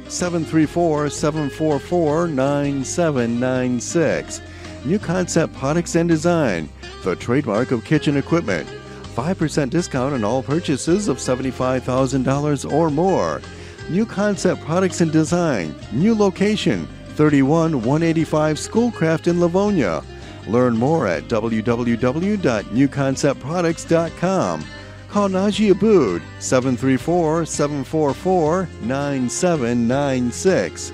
734-744-9796. New Concept Products and Design, the trademark of kitchen equipment. 5% discount on all purchases of $75,000 or more. New Concept Products and Design, new location, 31185 Schoolcraft in Livonia. Learn more at www.newconceptproducts.com. Call Naji Abood, 734-744-9796.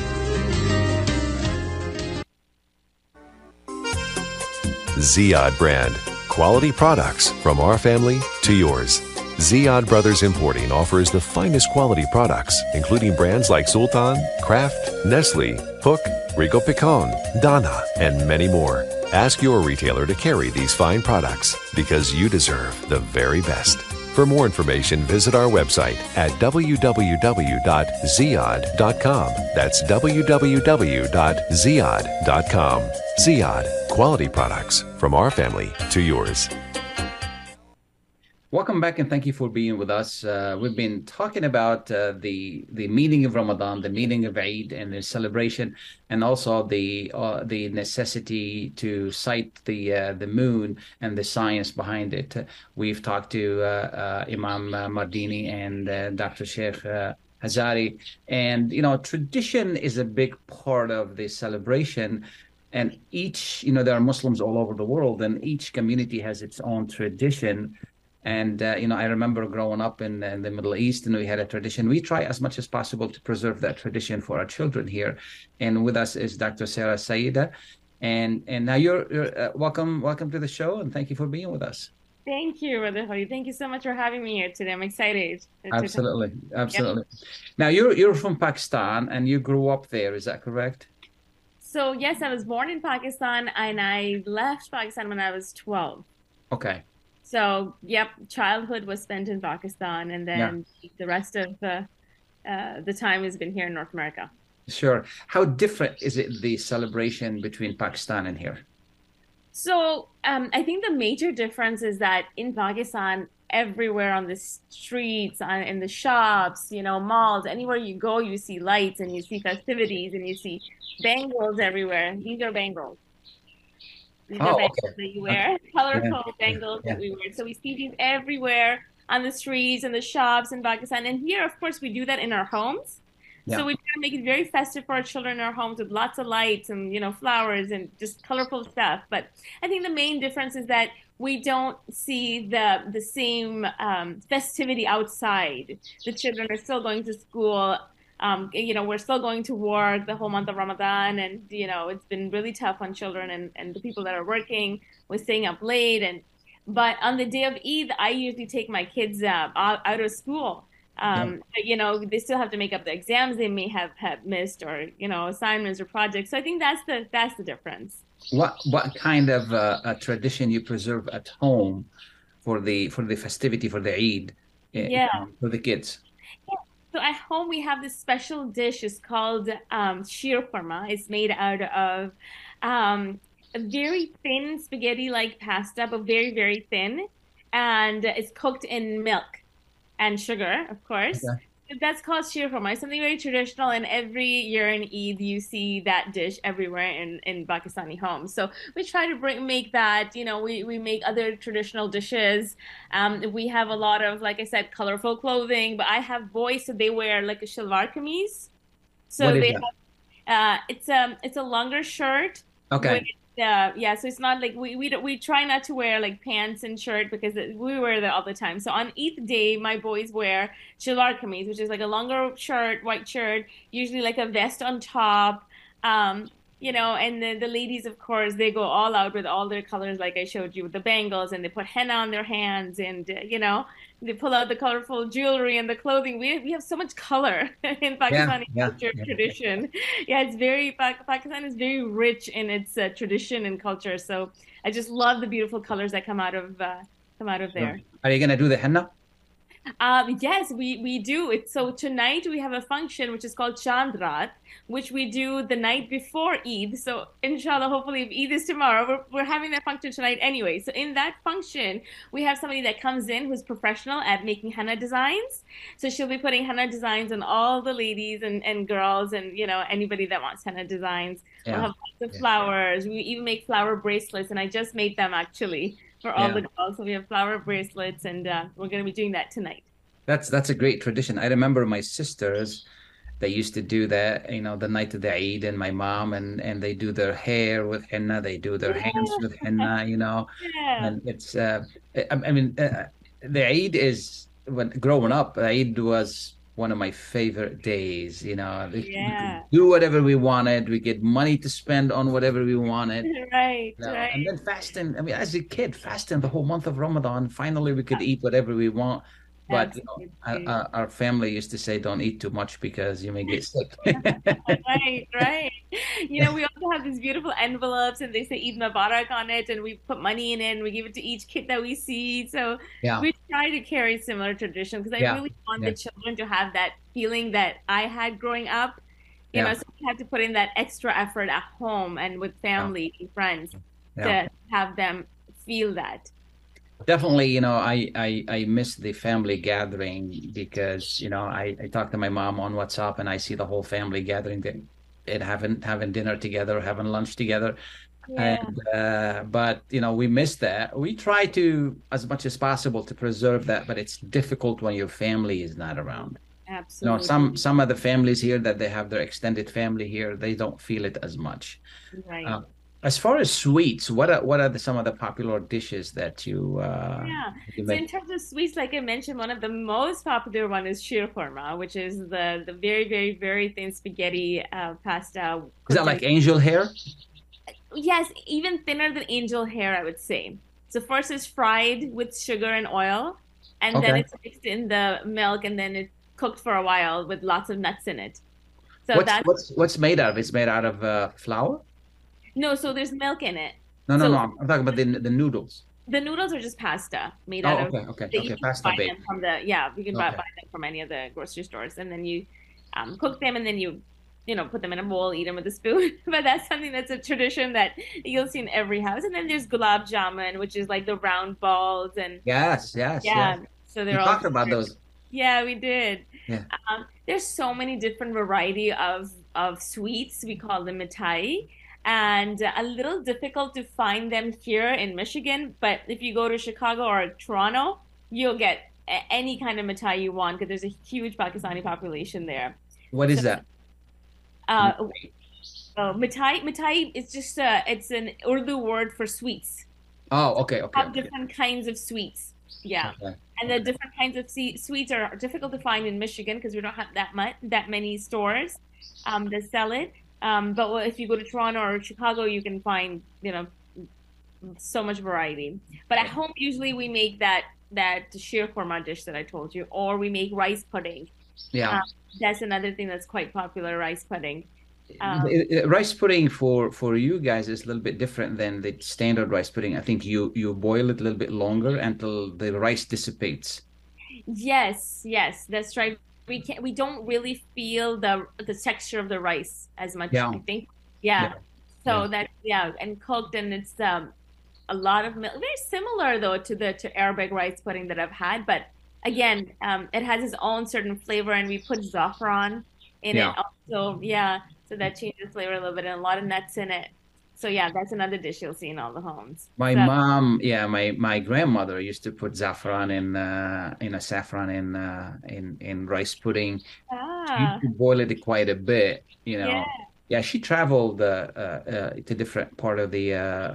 Ziyad brand. Quality products from our family to yours. Ziyad Brothers Importing offers the finest quality products, including brands like Sultan, Kraft, Nestle, Hook, Rico Picon, Dana, and many more. Ask your retailer to carry these fine products because you deserve the very best. For more information, visit our website at www.ziyad.com. That's www.ziyad.com. Ziyad, quality products from our family to yours. Welcome back and thank you for being with us. We've been talking about the meaning of Ramadan, the meaning of Eid and the celebration, and also the necessity to cite the moon and the science behind it. We've talked to Imam Mardini and Dr. Sheikh Hazari, and tradition is a big part of the celebration. And each, there are Muslims all over the world, and each community has its own tradition. And, I remember growing up in the Middle East, and we had a tradition. We try as much as possible to preserve that tradition for our children here. And with us is Dr. Sarah Saida. And now you're welcome to the show, and thank you for being with us. Thank you, Brother Holly. Thank you so much for having me here today. I'm excited. Absolutely. Yep. Now, you're from Pakistan, and you grew up there. Is that correct? So, yes, I was born in Pakistan, and I left Pakistan when I was 12. Okay. So, yep, childhood was spent in Pakistan, and then the rest of the time has been here in North America. Sure. How different is it, the celebration between Pakistan and here? So, I think the major difference is that in Pakistan, everywhere on the streets, in the shops, malls, anywhere you go, you see lights and you see festivities and you see bangles everywhere. These are bangles. These are bangles that you wear, colorful bangles that we wear. So we see these everywhere on the streets and the shops in Pakistan. And here, of course, we do that in our homes. Yeah. So we try to make it very festive for our children in our homes with lots of lights and, flowers and just colorful stuff. But I think the main difference is that we don't see the same festivity outside. The children are still going to school. We're still going to work the whole month of Ramadan, and it's been really tough on children and the people that are working. We're staying up late, but on the day of Eid, I usually take my kids out of school. They still have to make up the exams they may have missed, or assignments or projects. So I think that's the difference. What kind of a tradition you preserve at home for the festivity for the Eid for the kids? So at home we have this special dish. It's called sheer khurma. It's made out of a very thin spaghetti-like pasta, but very, very thin, and it's cooked in milk and sugar, of course. Okay. That's called sheer khurma. It's something very traditional, and every year in Eid you see that dish everywhere in Pakistani homes. So we try to make that. We make other traditional dishes. We have a lot of, like I said, colorful clothing. But I have boys, so they wear like a shalwar kameez. So What is they that? have it's a longer shirt. Okay. With, yeah, so it's not like we try not to wear like pants and shirt because we wear that all the time. So on Eid day, my boys wear shalwar kameez, which is like a longer shirt, white shirt, usually like a vest on top. And the ladies, of course, they go all out with all their colors, like I showed you, with the bangles, and they put henna on their hands, and they pull out the colorful jewelry and the clothing. We have so much color in Pakistani culture tradition. Yeah, it's Pakistan is very rich in its tradition and culture. So I just love the beautiful colors that come out of there. Are you gonna do the henna? Yes, we do. So tonight we have a function which is called Chandrat, which we do the night before Eid. So inshallah, hopefully if Eid is tomorrow, we're having that function tonight anyway. So in that function, we have somebody that comes in who's professional at making henna designs. So she'll be putting henna designs on all the ladies and girls and anybody that wants henna designs. Yeah. We'll have lots of flowers. We even make flower bracelets, and I just made them actually for all the girls. So we have flower bracelets, and we're going to be doing that tonight. That's a great tradition. I remember my sisters, they used to do that, the night of the Eid, and my mom, and they do their hair with henna, they do their hands with henna, and it's, the Eid is, when growing up, Eid was one of my favorite days, we could do whatever we wanted, we get money to spend on whatever we wanted. Right. And then fasting, as a kid, fasting the whole month of Ramadan, finally we could eat whatever we want. But our family used to say, don't eat too much because you may get sick. Right. We also have these beautiful envelopes, and they say Eid Mubarak on it, and we put money in it, and we give it to each kid that we see. So we try to carry similar tradition because I really want the children to have that feeling that I had growing up. So we have to put in that extra effort at home and with family and friends to have them feel that. Definitely, I miss the family gathering because, I talk to my mom on WhatsApp and I see the whole family gathering and having dinner together, having lunch together. Yeah. And, but, we miss that. We try to, as much as possible, to preserve that, but it's difficult when your family is not around. Absolutely. Some of the families here that they have their extended family here, they don't feel it as much. Right. As far as sweets, what are some of the popular dishes that you So in terms of sweets, like I mentioned, one of the most popular one is sheer khurma, which is the very, very, very thin spaghetti pasta. Is that like angel hair? Yes, even thinner than angel hair, I would say. So first it's fried with sugar and oil, and then it's mixed in the milk, and then it's cooked for a while with lots of nuts in it. So what's made out of? It's made out of flour? No, so there's milk in it. No. I'm talking about the noodles. The noodles are just pasta made out of. Okay. Pasta bake. You can buy them from any of the grocery stores, and then you cook them, and then you put them in a bowl, eat them with a spoon. But that's something that's a tradition that you'll see in every house. And then there's gulab jamun, which is like the round balls, and yes. So they're all talked about those. Yeah, we did. Yeah. There's so many different variety of sweets. We call them mithai. And a little difficult to find them here in Michigan. But if you go to Chicago or Toronto, you'll get any kind of mithai you want because there's a huge Pakistani population there. What is that? Mithai is just it's an Urdu word for sweets. Oh, okay. Have different kinds of sweets. Yeah. Okay. And the different kinds of sweets are difficult to find in Michigan because we don't have that many stores that sell it. But if you go to Toronto or Chicago, you can find, so much variety. But at home, usually we make that sheer khurma dish that I told you, or we make rice pudding. Yeah. That's another thing that's quite popular, rice pudding. Rice pudding for you guys is a little bit different than the standard rice pudding. I think you boil it a little bit longer until the rice dissipates. Yes, that's right. We don't really feel the texture of the rice as much. I think. And cooked, and it's a lot of milk. Very similar though to Arabic rice pudding that I've had, but again, it has its own certain flavor, and we put saffron in it Yeah. also. Yeah, so that changes flavor a little bit, and a lot of nuts in it. So yeah, that's another dish you'll see in all the homes. My So mom, yeah, my grandmother used to put saffron in a saffron in rice pudding. She used ah, to boil it quite a bit, you yeah, know. Yeah, she traveled to different part of the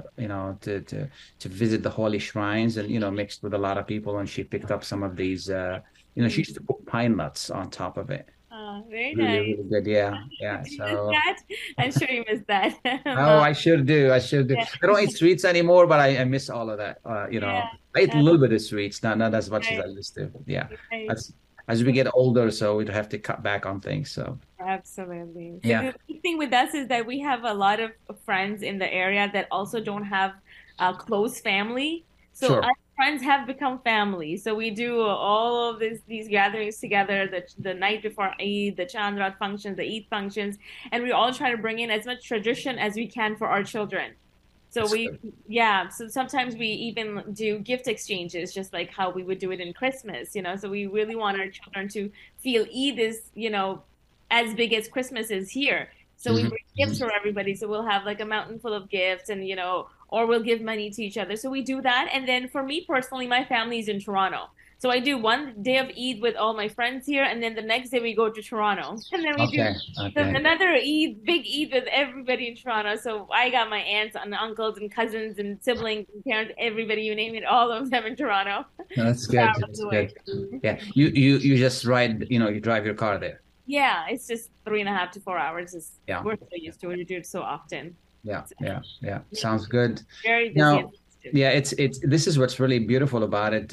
to visit the holy shrines and mixed with a lot of people, and she picked up some of these she used to put pine nuts on top of it. very Really, nice. really good. Yeah, Did yeah. you miss So that? I'm sure you missed that, oh, Mom. I sure do. I sure do. Yeah, I don't eat sweets anymore, but I miss all of that. yeah, I eat a uh, little bit of sweets, not as much as right, I used to. Yeah, right. as we get older, so we'd have to cut back on things. So Absolutely. So yeah, the big thing with us is that we have a lot of friends in the area that also don't have a close family. So sure. our friends have become family. So we do all of these gatherings together, the night before Eid, the Chandrat functions, the Eid functions, and we all try to bring in as much tradition as we can for our children. So That's we, good. yeah, so sometimes we even do gift exchanges, just like how we would do it in Christmas, So we really want our children to feel Eid is, as big as Christmas is here. So we Mhm, bring gifts mhm. for everybody. So we'll have like a mountain full of gifts and, or we'll give money to each other. So we do that. And then for me personally, my family's in Toronto. So I do one day of Eid with all my friends here, and then the next day we go to Toronto. And then we do Okay, okay. another Eid, big Eid with everybody in Toronto. So I got my aunts and uncles and cousins and siblings and parents, everybody, you name it, all of them in Toronto. That's good. Hours That's away. good. Yeah, you just ride. You drive your car there. Yeah, it's just 3.5 to 4 hours. Is Yeah, we're so used to it. We do it so often. yeah, So, yeah, yeah. Sounds good. very busy and Now, festive. yeah, it's this is what's really beautiful about it.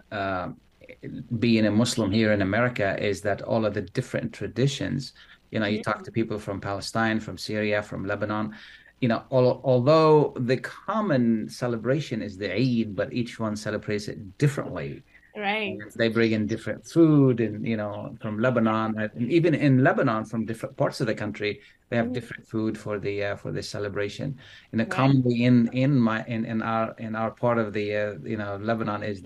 Being a Muslim here in America is that all of the different traditions, you talk to people from Palestine, from Syria, from Lebanon, although the common celebration is the Eid, but each one celebrates it differently. Right. And they bring in different food and, from Lebanon, and even in Lebanon, from different parts of the country, they have Mhm. different food for the celebration. Right. Commonly in our part of the Lebanon is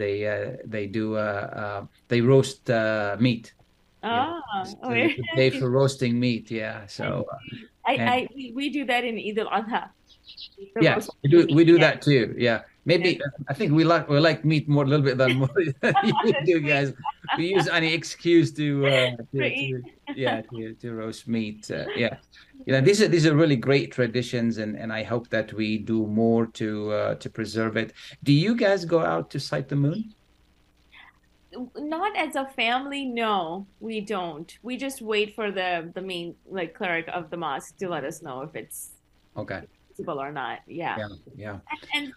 they roast meat. Ah, So it's a very day nice. for roasting meat. Yeah. I So see. and We do that in Eid al-Adha, the yes, roast we meat. do Yeah, that too. Yeah. yeah. Maybe I think we like meat more a little bit than more than you do Honestly, guys. We use any excuse for Eid. to roast meat. Yeah. These are really great traditions, and I hope that we do more to preserve it. Do you guys go out to sight the moon? Not as a family, no, we don't. We just wait for the main like cleric of the mosque to let us know if it's Okay. possible or not. Yeah. Yeah. Yeah. And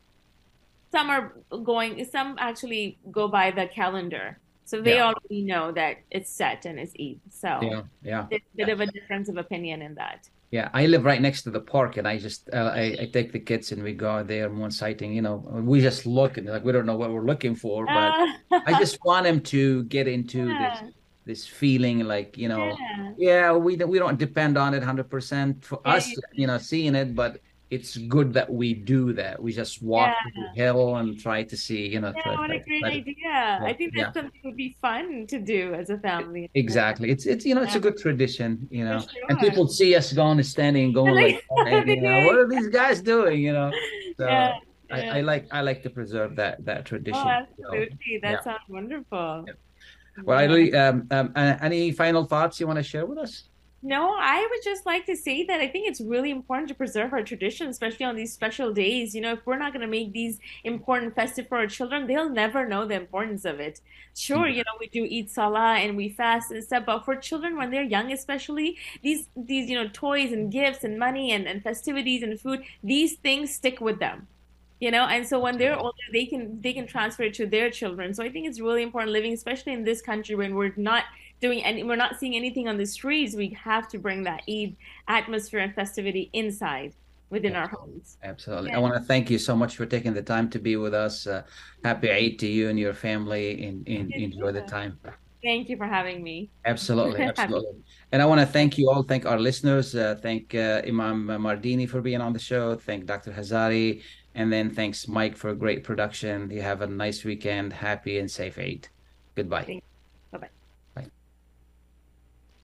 some are going, some actually go by the calendar. So they Yeah. already know that it's set and it's Eid. So Yeah. Yeah. there's a bit of a difference of opinion in that. Yeah, I live right next to the park, and I take the kids and we go out there moon sighting. We just look and like we don't know what we're looking for, but I Uh, just want them to get into this yeah, this feeling like, yeah, yeah, we don't depend on it 100% for yeah, us, seeing it, but it's good that we do that. We just yeah. walk to the hill and try to see, Yeah, what a great try to, idea. yeah, I think yeah. that's something that would be fun to do as a family. Exactly. It's a Yeah, good tradition, for and sure. people see us going and standing and going like, Like, hey, what yeah, are these guys doing? yeah, So yeah. I like to preserve that Oh, tradition. So absolutely. yeah. That sounds wonderful. Yeah. Well, I Yeah. really any final thoughts you want to share with us? No, I would just like to say that I think it's really important to preserve our tradition, especially on these special days. If we're not going to make these important festive for our children, they'll never know the importance of it. Sure, Exactly. we do eat salah and we fast and stuff, but for children when they're young, especially these toys and gifts and money and festivities and food, these things stick with them. And so when they're older, they can transfer it to their children. So I think it's really important living, especially in this country when we're not seeing anything on the streets. We have to bring that Eid atmosphere and festivity inside within our Absolutely. homes. Absolutely. I Yeah. want to thank you so much for taking the time to be with us. Happy Eid to you and your family, and enjoy the time. Thank you for having me. Absolutely, Happy. absolutely. And I want to thank you all, thank our listeners, thank Imam Mardini for being on the show, thank Dr. Hazari, and then thanks Mike for a great production. You have a nice weekend, happy and safe Eid. Goodbye.